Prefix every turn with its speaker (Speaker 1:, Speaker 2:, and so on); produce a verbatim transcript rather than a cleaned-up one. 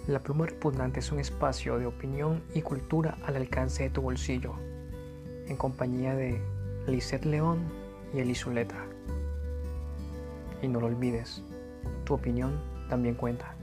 Speaker 1: La Pluma Repugnante es un espacio de opinión y cultura al alcance de tu bolsillo, en compañía de Lisette León y Eli Zuleta. Y no lo olvides, tu opinión también cuenta.